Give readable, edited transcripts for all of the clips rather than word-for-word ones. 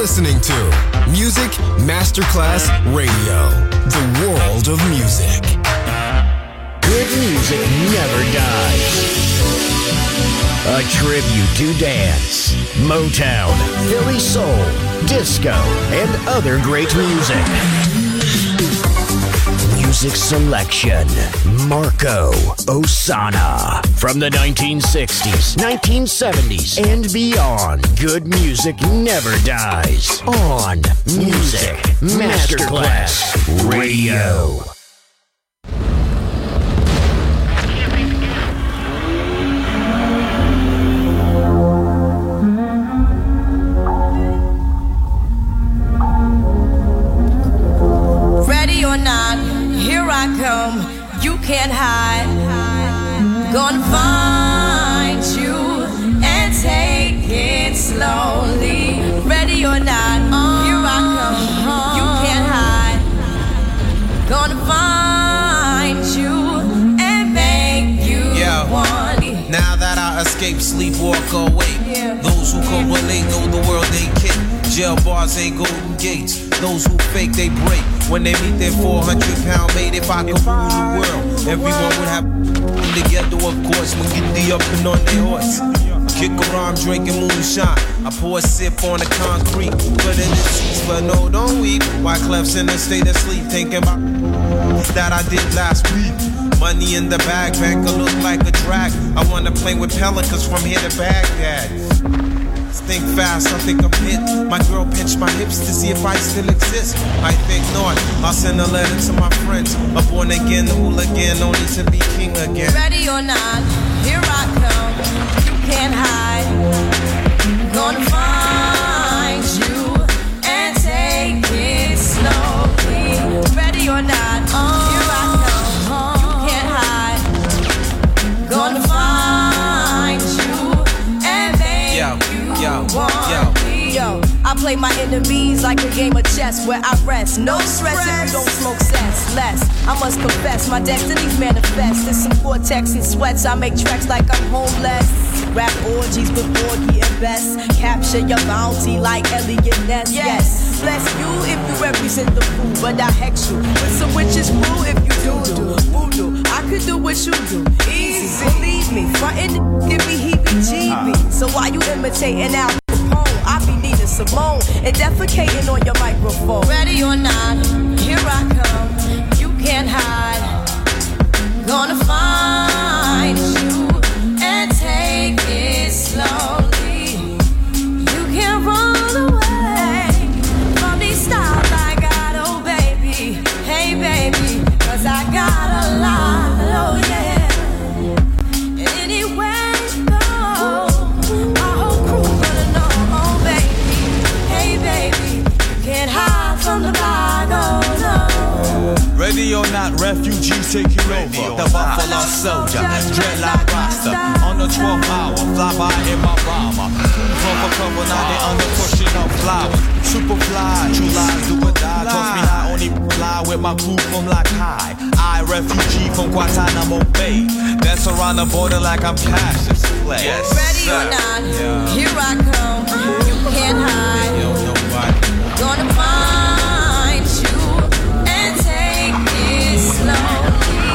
listening to Music Masterclass Radio, the world of music. Good music never dies. A tribute to dance, Motown, Philly soul, disco, and other great music. Music selection, Marco Ossanna. From the 1960s, 1970s, and beyond, good music never dies. On Music Masterclass Radio. Ready or not, here I come, you can't hide. Gonna find you and take it slowly. Ready or not, here I come, you can't hide. Gonna find you and make you want it. Now that I escape, sleep, walk awake. Those who correlate know the world ain't kick. Jail bars ain't golden gates. Those who fake, they break. When they meet their 400-pound mate, if I could rule the world, everyone would have together, of course. When get the up and on their horse, kick around drinking moonshine. I pour a sip on the concrete, put in the seats, but no, don't weep. Why Clef's in a state of sleep, thinking about that I did last week. Money in the bag, banker look like a drag. I wanna play with pelicans from here to Baghdad. Think fast, I think I'm hit. My girl pinched my hips to see if I still exist. I think not. I'll send a letter to my friends. A born again hooligan, only to be king again. Ready or not, here I come. You can't hide. Gonna find you and take it slowly. Ready or not, here I come. You can't hide. Gonna find you and make you want me. Yo, I play my enemies like a game of chess where I rest. No stress if you don't smoke cess. Less, I must confess, my destinies manifest. In some vortex and sweats, I make tracks like I'm homeless. Rap orgies with Borgie and Best. Capture your bounty like Elliot Ness. Yes, bless you if you represent the fool, but I hex you with some witches brew if you do voodoo. I could do what you do, easy. Believe me, frontin' give me heebie-jeebies. So why you imitating Al Capone? I be needing Simone and defecating on your microphone. Ready or not, here I come. You can't hide. Gonna find you and take it slowly. You can't run away from these styles I got, oh baby. Hey baby, 'cause I got a lot, oh yeah. And anywhere you go, my whole crew gonna know, oh baby. Hey baby, you can't hide from the bag, oh no. Ready or not, refugees taking over. The Buffalo Soldier, dreadlock roster. On the 12th hour, fly by in my bomber. From a couple, now they under pushing up flowers. Super fly, true lies do or die. Toss me high, only fly with my crew from like high. I refugee from Guantanamo Bay. That's around the border like I'm Cassius Clay. Yes, ready or not, here I come. You can't hide. Gonna find you and take it slowly.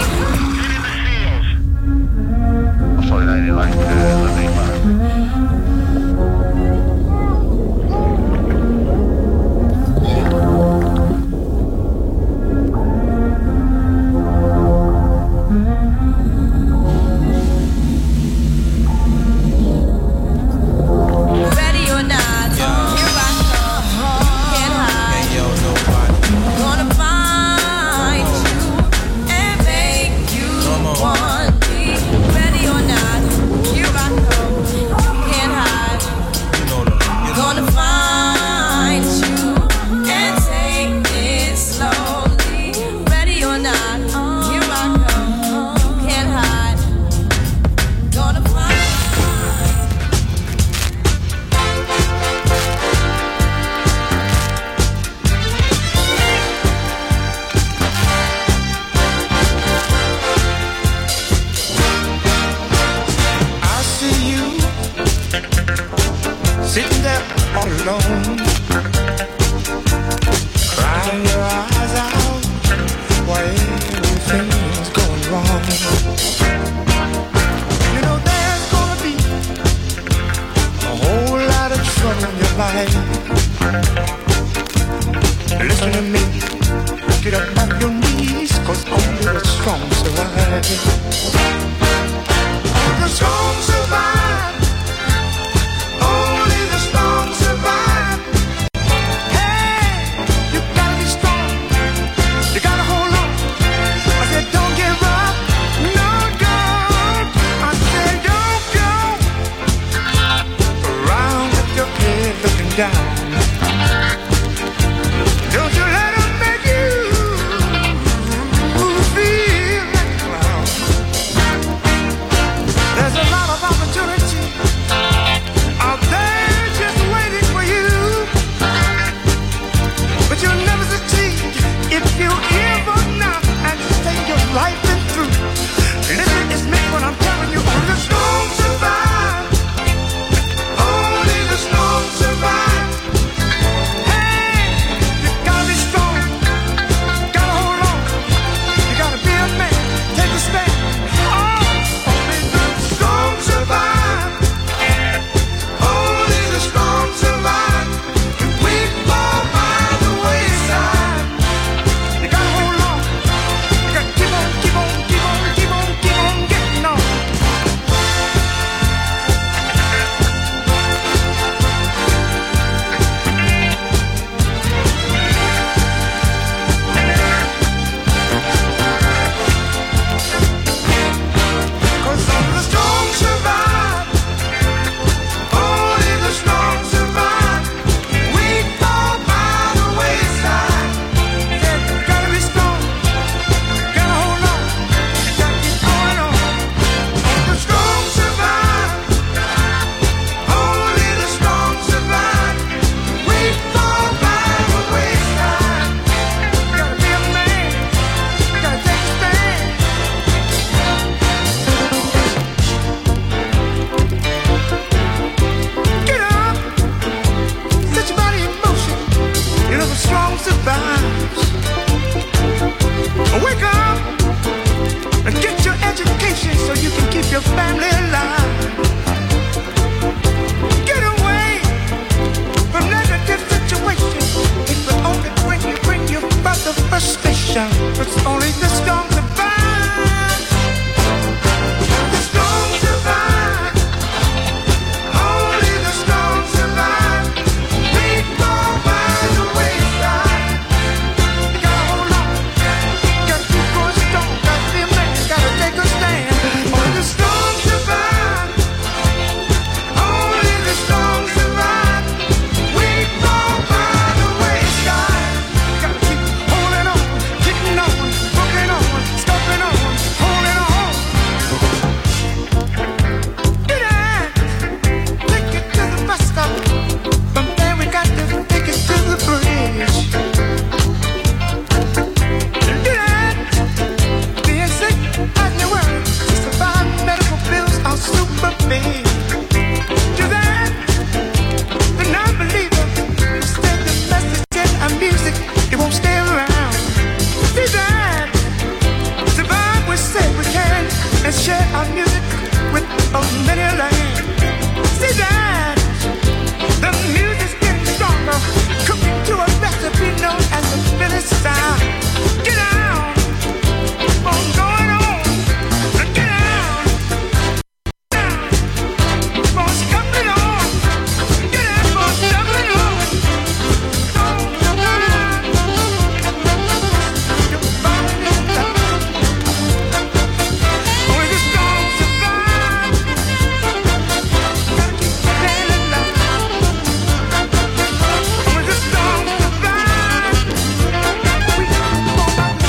Ready or not, here I come. You can't hide. Gonna find you and make you want me. Ready or not, here I come. You can't hide. Gonna find you and take it slowly. Ready or not, here I come. You can't hide. Gonna find. I see you sitting there all alone. life. Listen to me, get up on your knees, 'cause only the strong survive. The strong survive. Only the strong survive. Hey, you gotta be strong. You gotta hold on. I said don't give up. No, don't. I said don't go around with your head looking down. Don't you let them make you feel like a clown. There's a lot of opportunity out there just waiting for you, but you'll never succeed if you give up now and say your life been through. Listen, it's me when I'm telling you, only the strong survive. Only the strong survive. Hey, you gotta be strong, gotta hold on, you gotta be a man, take a stand. Oh, only the strong survive. Only the strong survive. We fall by the wayside. You gotta hold on. You gotta keep on, keep on, keep on, keep on, keep on getting on. 'Cause only the strong survive. Only the strong survive. We fall by the wayside. Yeah, you gotta be strong. Gotta hold on. You gotta keep going on. Only the strong survive. Only the strong survive. We fall by the wayside. You gotta be a man. You gotta take a stand. Get up, set your body in motion. You know the strong survives. Wake up and get your education so you can keep your family alive. Get away from negative situations. It will only bring you further frustration. It's only the strong survive. The strong survive. Only the strong survive. We fall by the wayside. You gotta hold on. You gotta keep going strong. Gotta be a man. Gotta take a stand. Only the strong survive. Only the strong survive. We fall by the wayside. You gotta keep holding on, keeping on, working on, stopping on, holding on. Get out. Take it to the bus stop. From there we got to take it to the bridge. Get out. Being sick as you were, to survive medical bills are super big. Do that. The non-believer will send the message in our music. It won't stay around. See that. Survive, we say we can, and share our music with a many land. See that. The music's getting stronger, cooking to a recipe known as the Philly style. Get out. Keep on going on. Get out. Keep on scuffling on. Get out. Keep on scuffling on. Only the strong survive. Gotta keep staying alive. Only the strong survive. We fall by the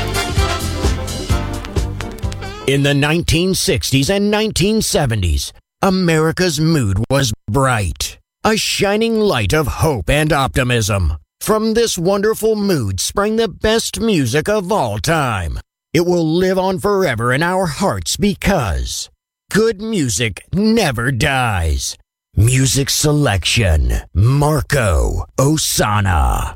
In the 1960s and 1970s, America's mood was bright, a shining light of hope and optimism. From this wonderful mood sprang the best music of all time. It will live on forever in our hearts because good music never dies. Music selection, Marco Ossanna.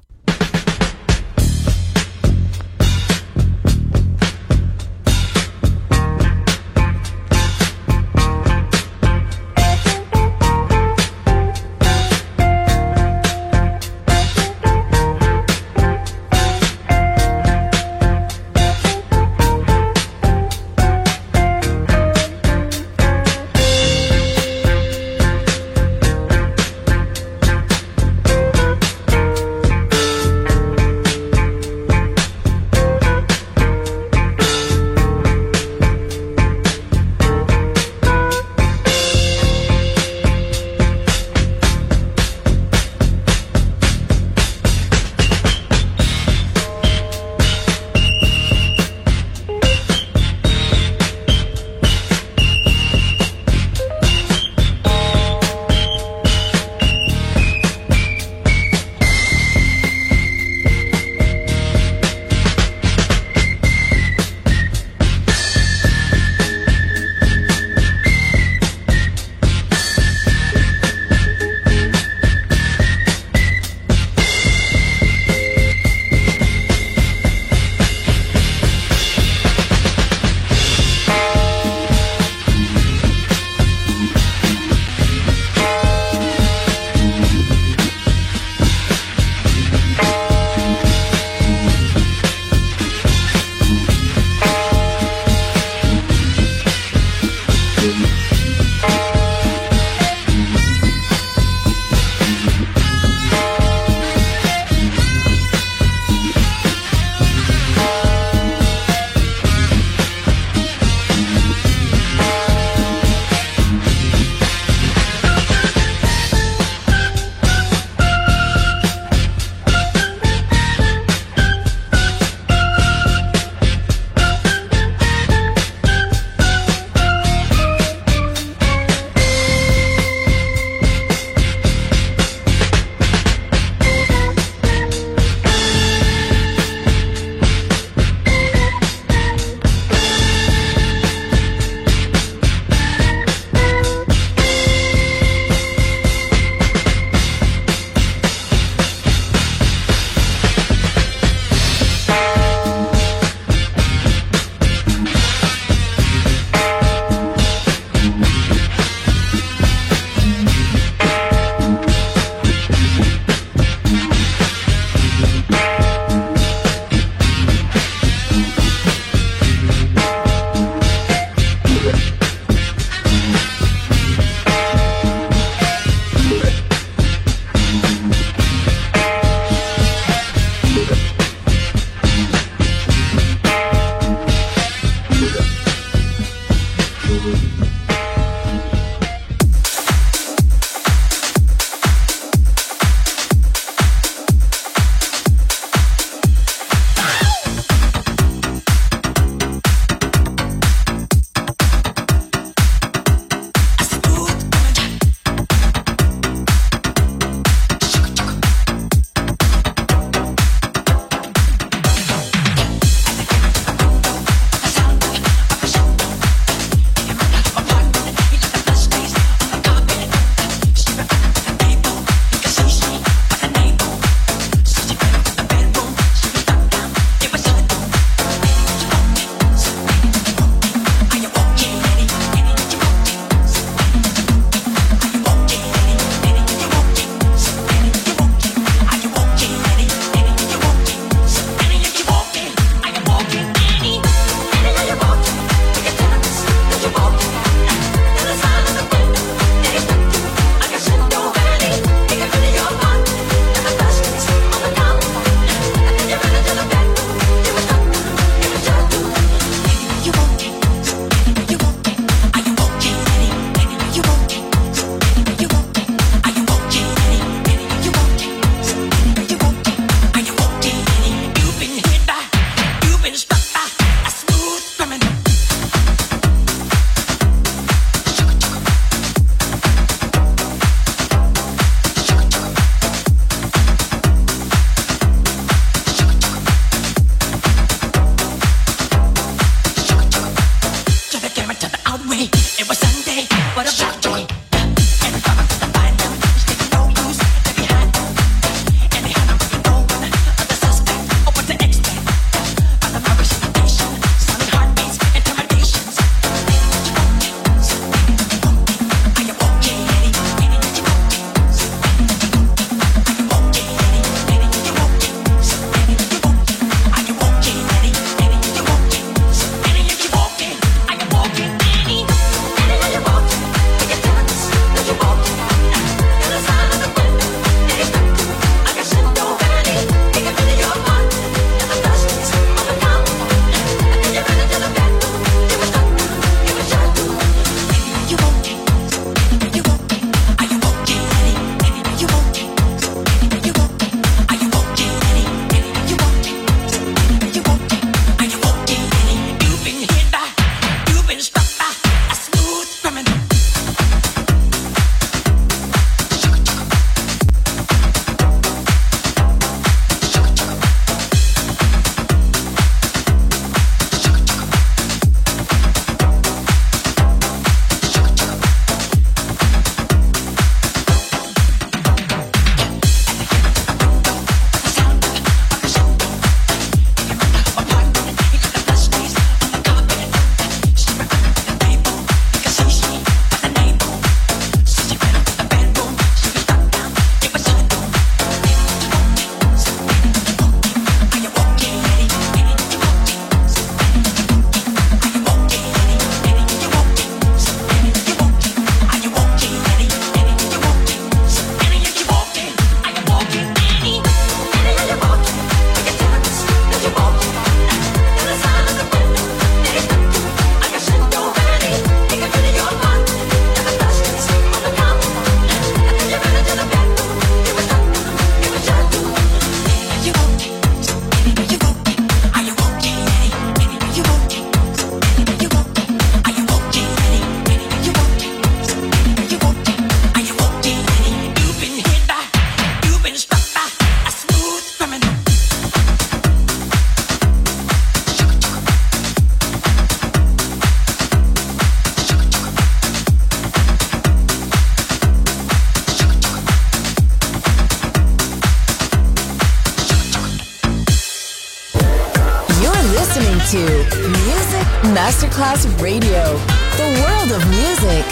to Music Masterclass Radio, the world of music.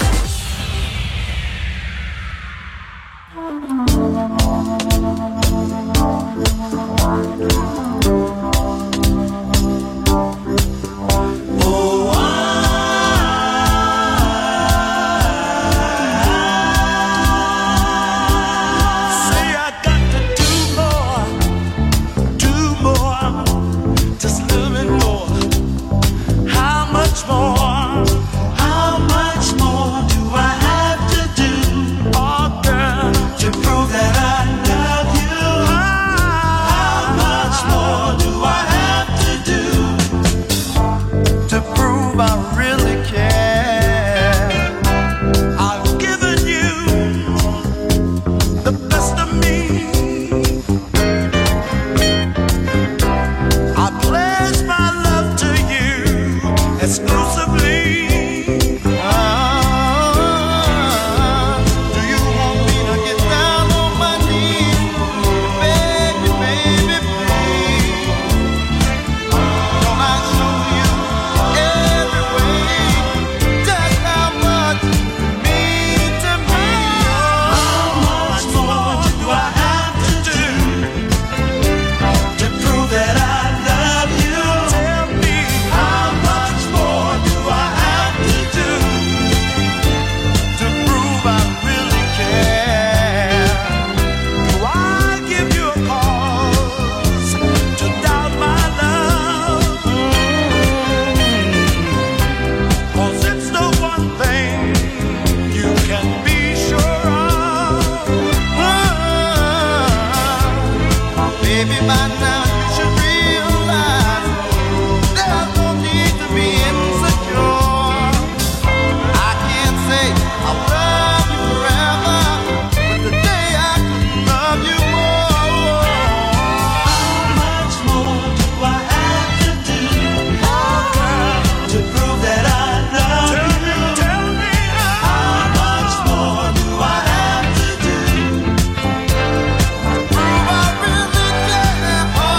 Oh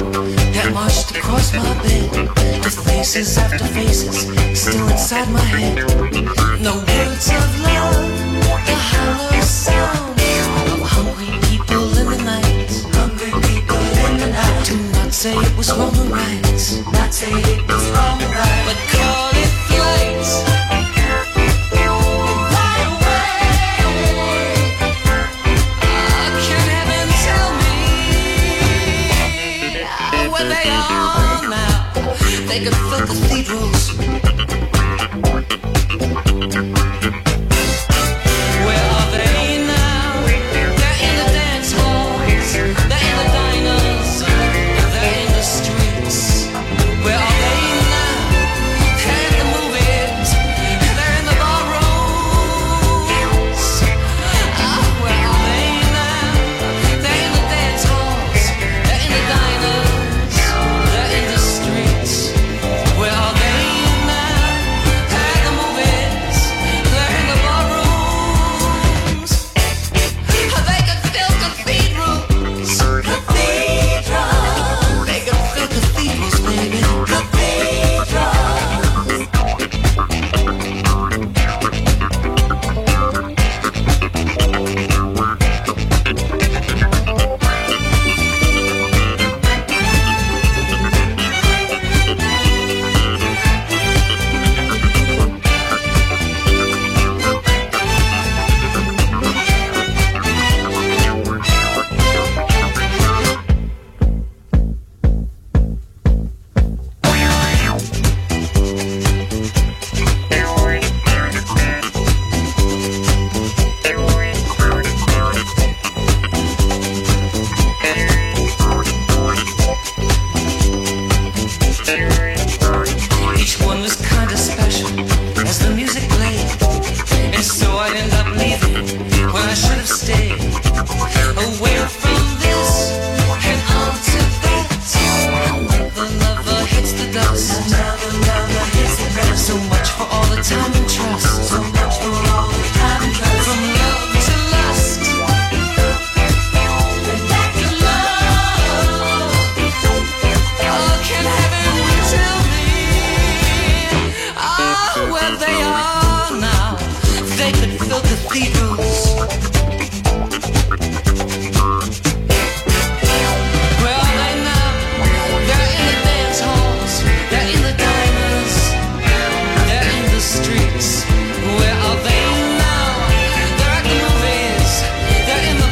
that marched across my bed, with faces after faces still inside my head. No words of love, the hollow sound of hungry people in the night. Hungry people in the night. Do not say it was wrong or right. Not say it was wrong or right. But call it flight. Right away. Can heaven tell me where they are now? They could fill cathedrals. Where are they now? They're in the dance halls. They're in the diners. They're in the streets. Where are they now? They're in the movies. They're in the barrooms. Where are they now? They're in the dance halls. They're in the diners. They're in the streets. Where are they now? They're in the movies. They're in the barrooms. They could fill cathedrals. Cathedrals. They could fill cathedrals, baby. Each one was kinda special as the music played, and so I'd end up leaving when I should have stayed. Away from this and on to that. Another lover hits the dust. Another lover hits the dust. So much for all the time and trust. So much for all the time and trust. From love to lust. And back to love. Oh, can heaven tell me where they are now? They could fill cathedrals. Where are they now? They're in the dance halls. They're in the diners. They're in the streets. Where are they now? They're at the movies. They're in the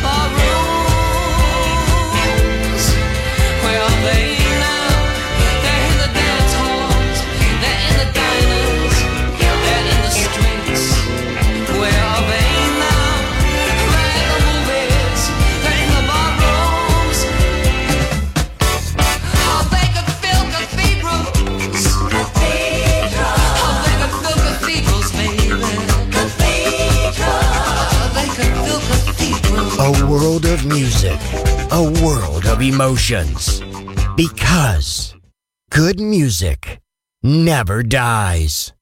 barrooms. Where are they now? They're in the dance halls. They're in the diners. They're in the streets. Where are they now? They're in the movies. They're in the barrooms. Oh, they could fill cathedrals. Cathedrals. Oh, they could fill cathedrals, baby. Cathedrals. They could fill cathedrals. A world of music, a world of emotions. Because good music never dies.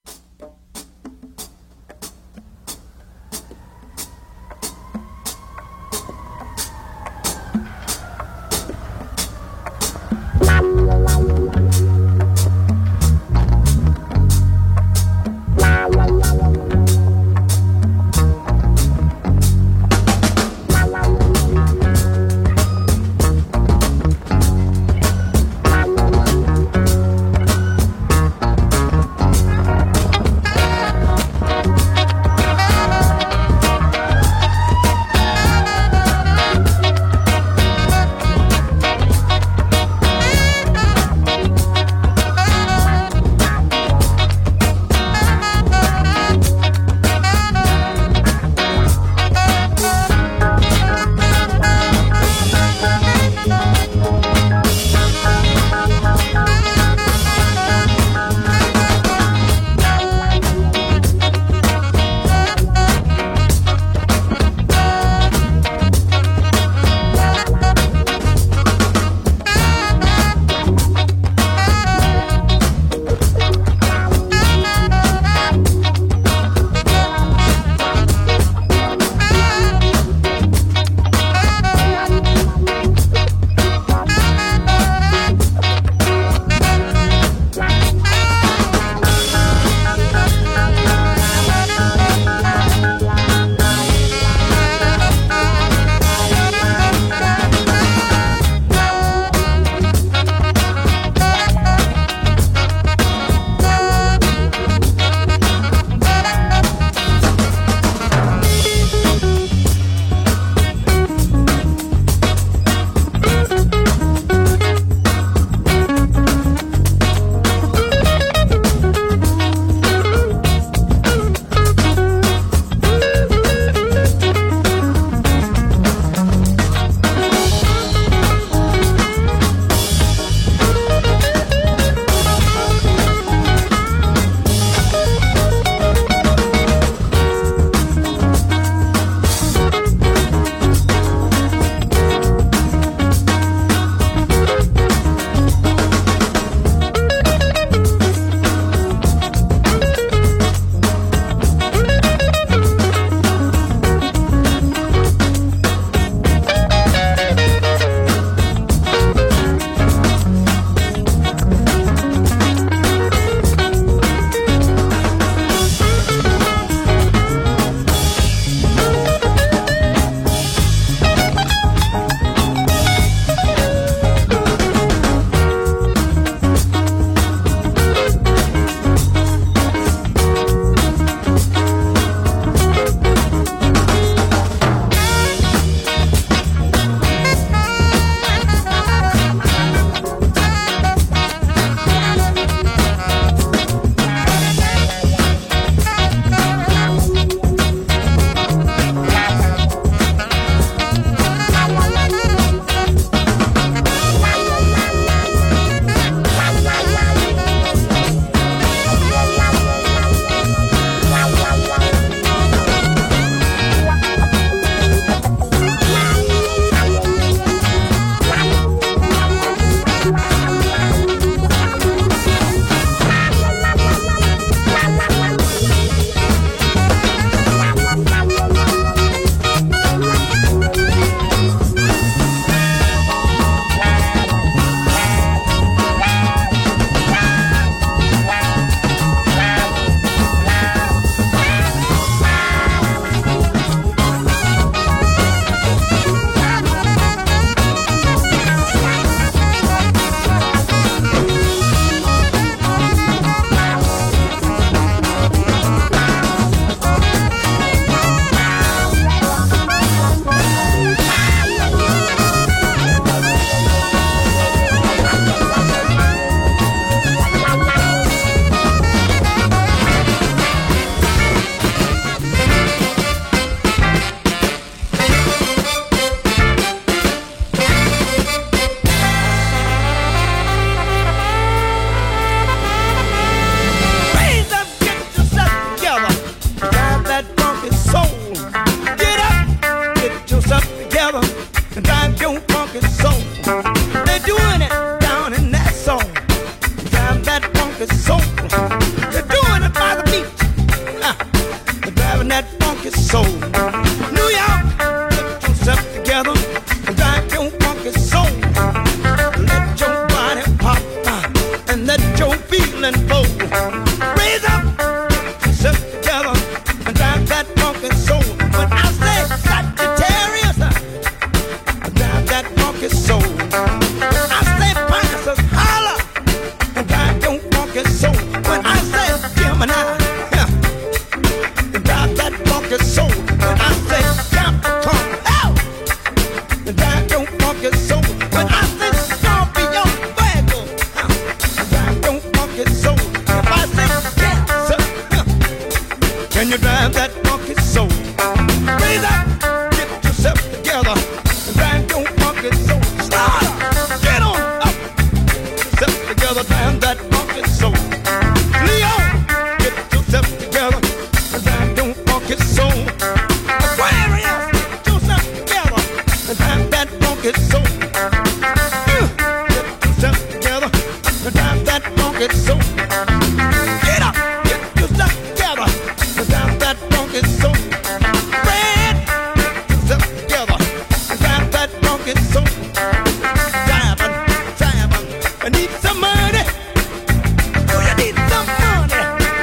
funky soul. Get up, get yourself together. Drive that funky soul. Red, get yourself together. Drive that funky soul. Driving, I need some money. Oh, you need some money.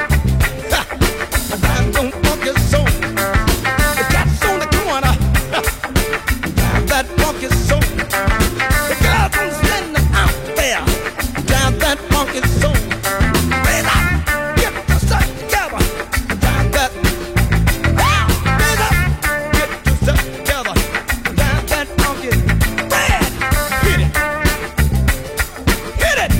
Drive that funky soul. The cat's on the corner. Drive that funky soul. The girls are standing out there. Drive that funky soul. Raise up, get yourself together. Drive that. Raise up, get yourself together. Drive that funky. Red, hit it, hit it, hit it.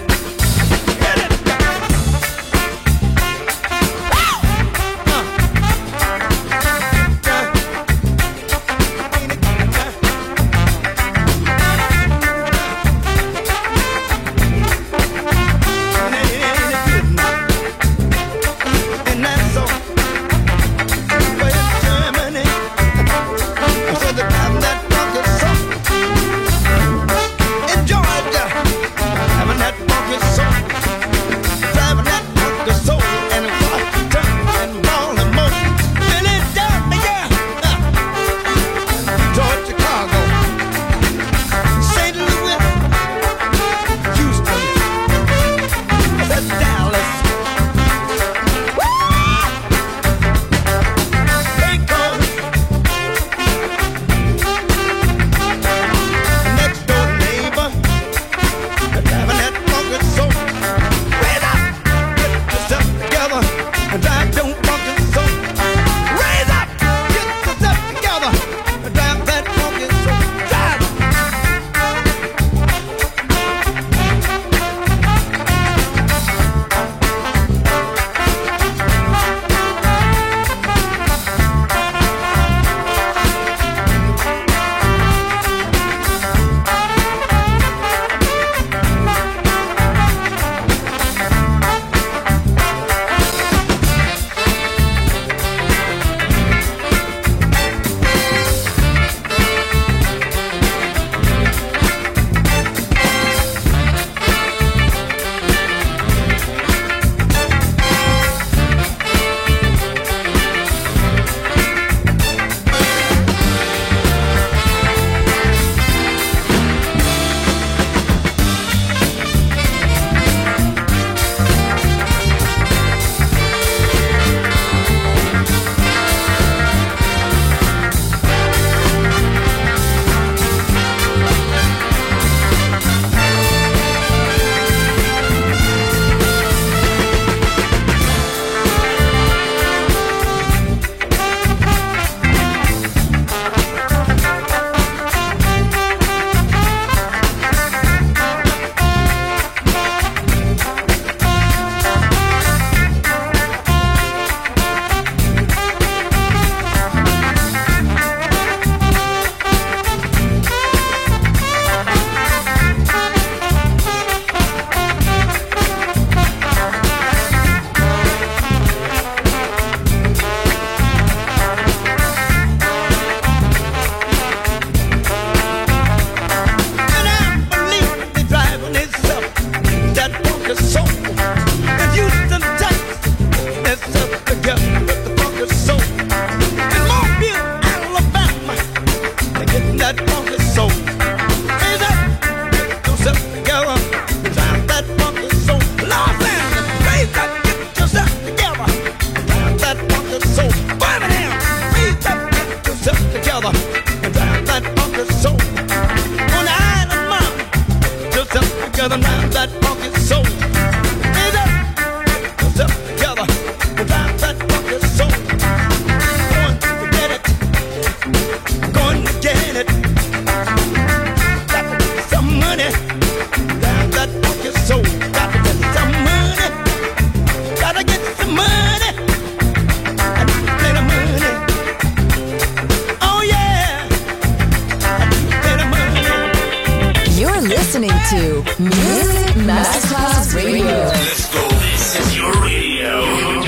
to Music Masterclass Radio. Let's go. This is your radio.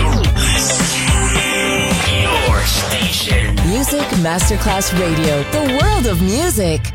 Your station. Music Masterclass Radio. The world of music.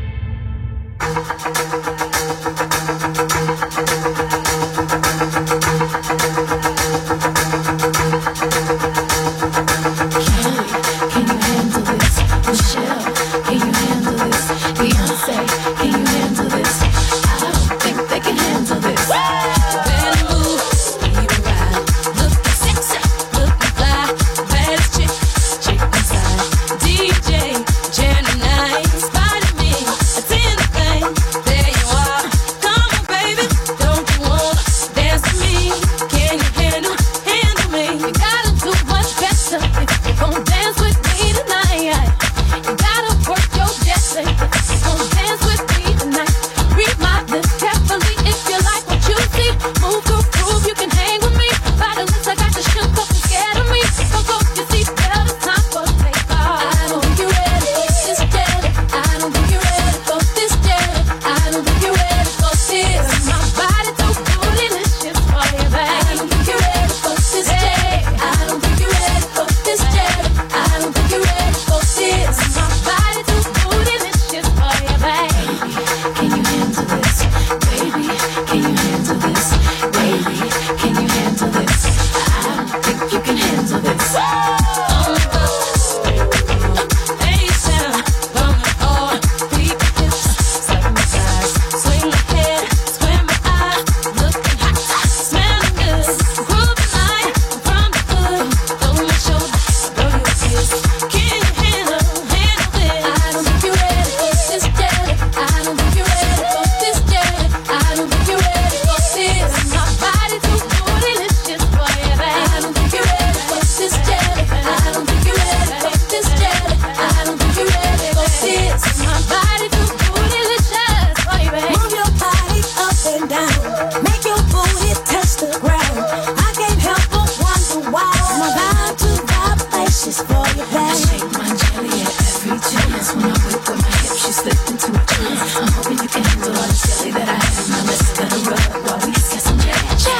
make your booty touch the ground. I can't help but wonder why. My vibe to vibrations for your back. I shake my jelly at every chance. When I whip with my hips, she slipped into a trance. I'm hoping you can handle all the jelly that I have. Now let's let her rub while we get some jelly.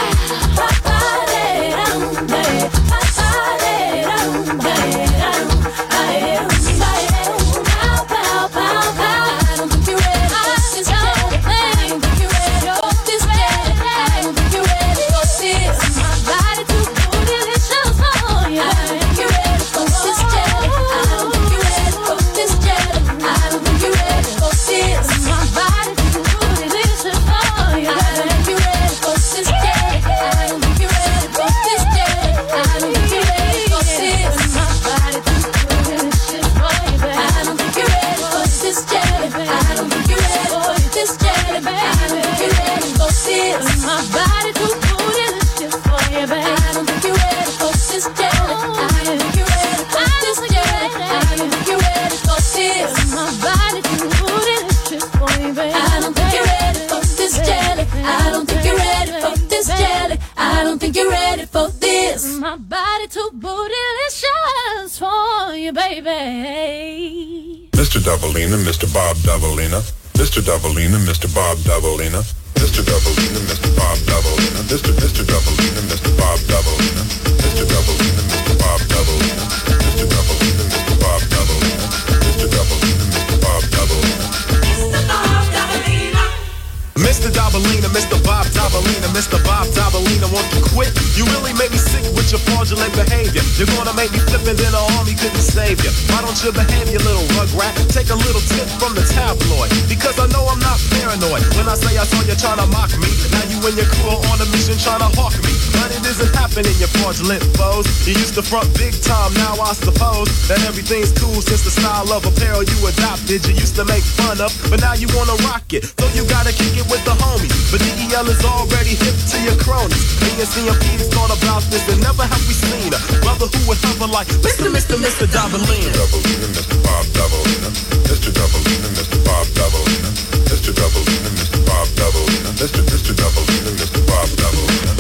My body too bootylicious for you, baby. Mr. Doubleina, Mr. Bob Doubleina, Mr. Doubleina, Mr. Bob Doubleina, Mr. Doubleina, Mr. Bob Doubleina, Mr. Doubleina, Mr. Bob Doubleina, Mr. Doubleina, Mr. Bob Doubleina, Mr. Doubleina, Mr. Bob Doubleina, Mr. Doubleina, Mr. Bob Doubleina. Mr. Doubleina, Mr. Bob Doubleina, Mr. Bob Doubleina, won't you quit? You really make me sick with your fraudulent behavior. You're gonna make me flip and then the army couldn't save you. Why don't you behave, you little rugrat? Take a little tip from the tabloid, because I know I'm not paranoid. When I say I saw you trying to mock me, now you and your crew are on a mission trying to hawk me. But it isn't happening, you fraudulent foes. You used to front big time, now I suppose that everything's cool since the style of apparel you adopted. You used to make fun of, but now you wanna rock it. So you gotta kick it with the homies. But DEL is already hip to your cronies. Me and CMP's thought about this and never have we seen a brother who would hover like Mr. Doubleina. Doubleina, Mr. Bob Doubleina, Mr. Doubleina, Mr. Bob Doubleina, Mr. Doubleina, Mr. Bob Doubleina, Mr. Doubleina, Mr. Bob Doubleina.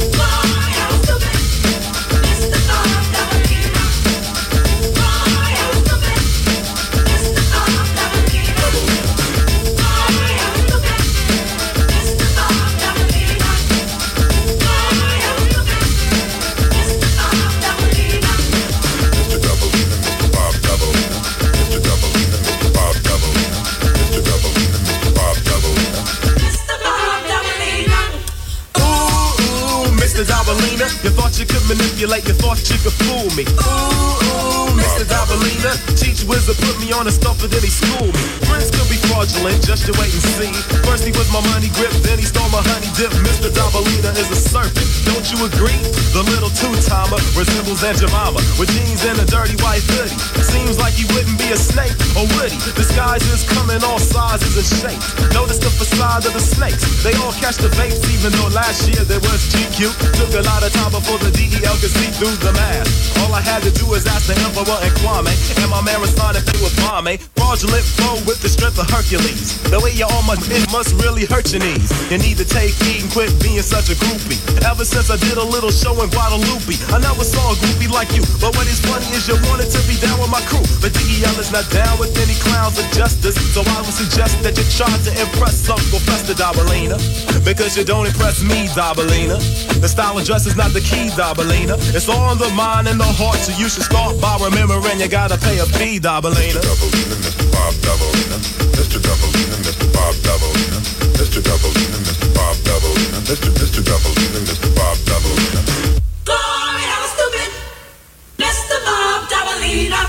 Doubleina, you thought you could manipulate, you thought you could fool me. Ooh, Mr. Doubleina, teach wizard put me on a stuff and then he schooled me. Friends could be fraudulent, just you wait and see. First he was my money grip, then he stole my honey dip. Mr. Doubleina is a serpent, don't you agree? The little two-timer resembles Aunt Jemima with jeans and a dirty white hoodie. Seems like he wouldn't be a snake, or would he? Disguises come in all sizes and shapes. Notice the facade of the snakes, they all catch the vapes, even though last year there was GQ. Took a lot of time before the DEL could see through the mask. All I had to do was ask the Emperor and Kwame, and my man responded they was Kwame. Fraudulent foe with the strength of Hercules. The way you're on my it must really hurt your knees. You need to take heed and quit being such a groupie. Ever since I did a little show in Guadalupe, I never saw a groupie like you. But what is funny is you wanted to be down with my crew, but DEL is not down with any clowns of justice. So I would suggest that you try to impress Uncle Fester Doubleina, because you don't impress me, Doubleina. The style of dress is not the key, Doubleina. It's all in the mind and the heart, so you should start by remembering you gotta pay a fee, Doubleina. Mr. Doubleina, Mr. Bob Doubleina, Mr. Doubleina, Mr. Bob Doubleina, Mr. Doubleina, Mr. Bob Doubleina, Mr. Doubleina, Mr. Bob Doubleina. Glory, I was stupid, Mr. Bob Doubleina.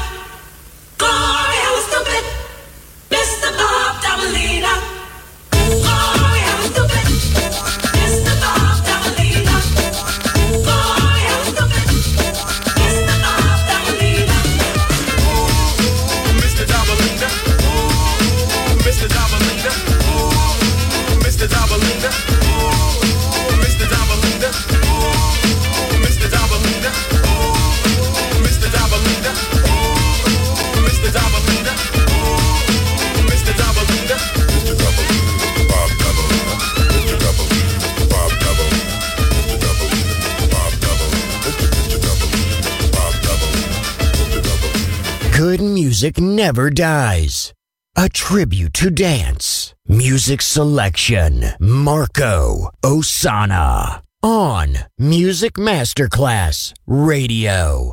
Glory, I was stupid, Mr. Bob Doubleina. Glory, I was stupid, Mr. Bob Doubleina. Glory, I was stupid, Mr. Bob Doubleina. Ooh, Mr. Doubleina. Ooh, Mr. Doubleina. Ooh, Mr. Doubleina. Ooh, Mr. Doubleina. good music never dies. A tribute to dance. Music selection. Marco Ossanna. On Music Masterclass Radio.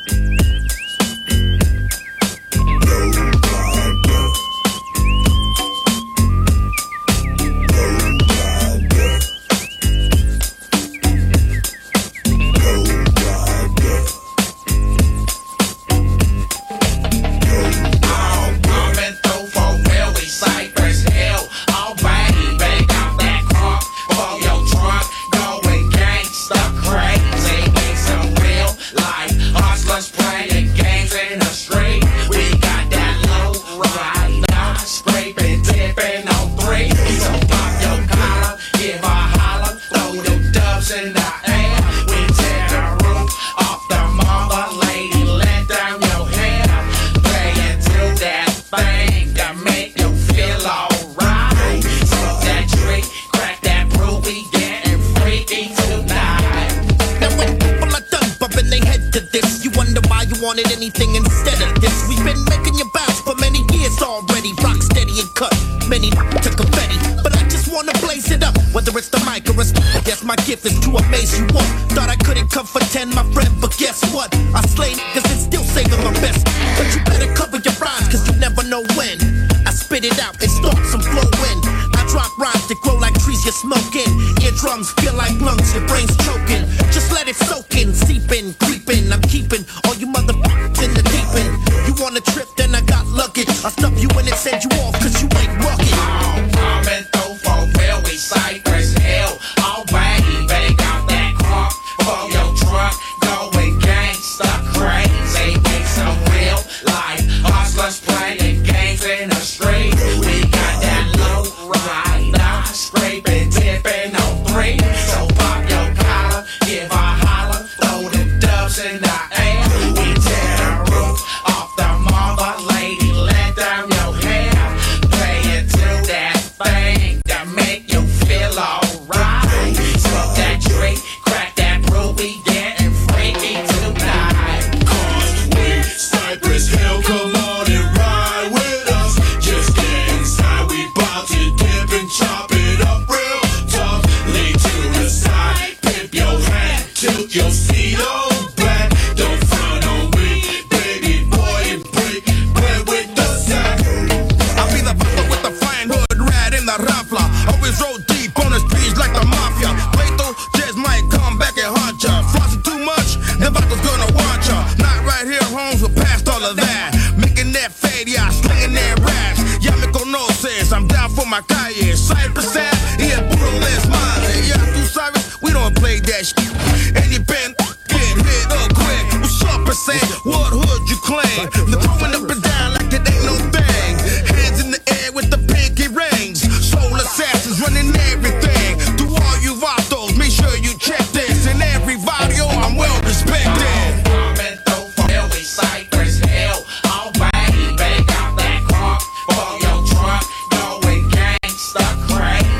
Wanted anything instead of this. We've been making you bounce for many years already. Rock steady and cut many to confetti, but I just wanna blaze it up. Whether it's the mic or it's yes, my gift is to amaze you all. Thought I couldn't come for 10, my friend, but guess what? I slay niggas and still saving my best. But you better cover your rhymes, cause you never know when I spit it out and start some flowing. I drop rhymes that grow like trees you're smoking. Eardrums feel like lungs, your brain's choking. Just let it soak in, seep in, creeping. I'm keeping all you motherfuckers in the deep end. You want a trip, then I got luggage. I stuff you in and send you off, cause you ain't rugged. I'm in for railway Cypress Hill. All baggy, bag out that car for your truck. Going gangsta crazy, make some real life hustlers playing games in the street. We got that low rider, scraping, tipping on 3. So pop your collar, give a holler, throw the dubs in the air. We tear the roof off the mother lady, let down your hair. Play into that thing that make you feel alright. Smoke that tree, crack that brew, we getting freaky tonight. Cause we Cypress Hill, come on and ride with us. Just get inside, we bout to dip and chop it up real tough. Lay to the side, pimp your hat, tilt your seat on back. Don't front on me, baby boy, and break bread with the sack. I'll be the butler with the flying hood rat in the raffler. Always roll deep on the streets like the mafia. Lethal just might come back and haunt ya. Flossing too much, the butler's gonna want ya. Not right here, Holmes, we're past all of that. Making that fade, yeah, slinging that raps. Ya me conoces, I'm down for my calle. Cypress Ave, yeah, brutalist mine. Yeah, through Cyrus, we don't play that shit. And you been get hit up quick. What's up, percent? What hood you claim? They're throwing up and down like it ain't no thing. Hands in the air with the pinky rings. Soul assassins running everything. To all you vatos, make sure you check this. In every video, I'm well respected. I'm in for railway Cypress Hill. All baggy, bag out that car for your truck. Going gangsta crazy.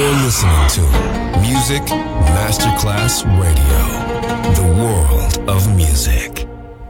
You're listening to Music Masterclass Radio, the world of music.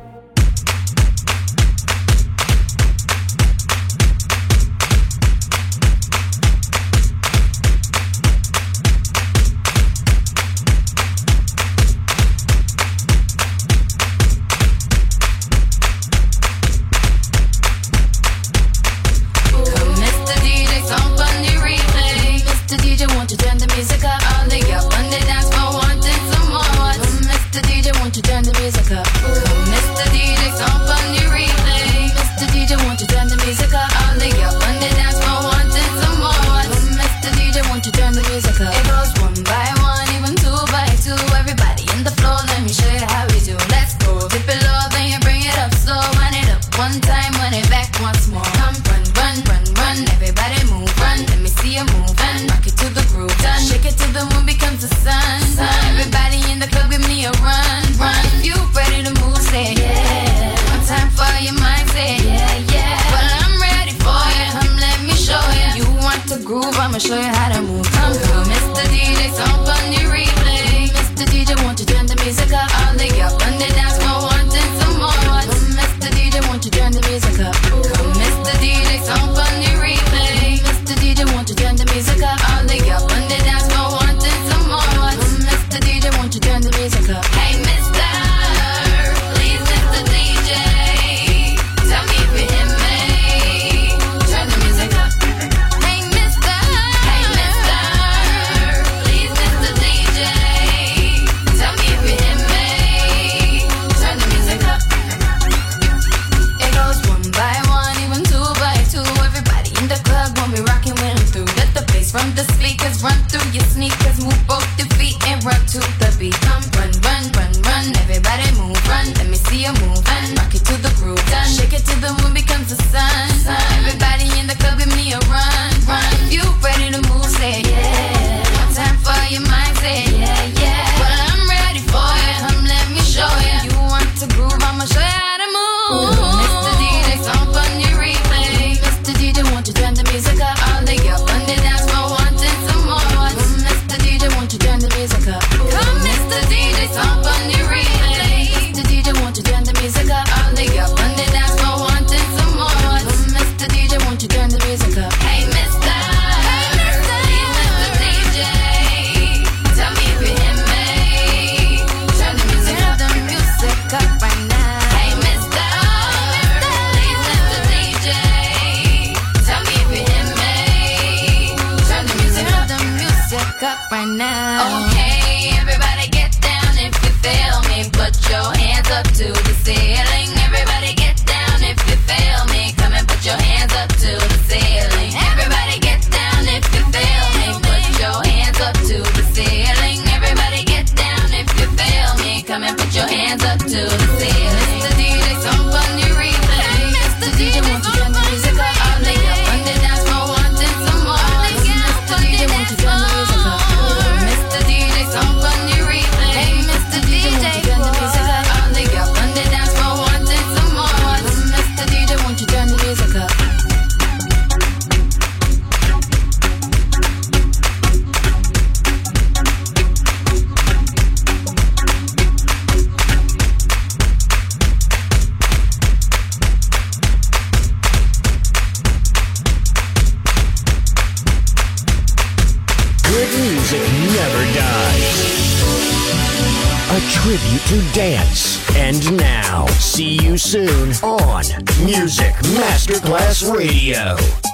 Tribute to dance. And now, see you soon on Music Masterclass Radio.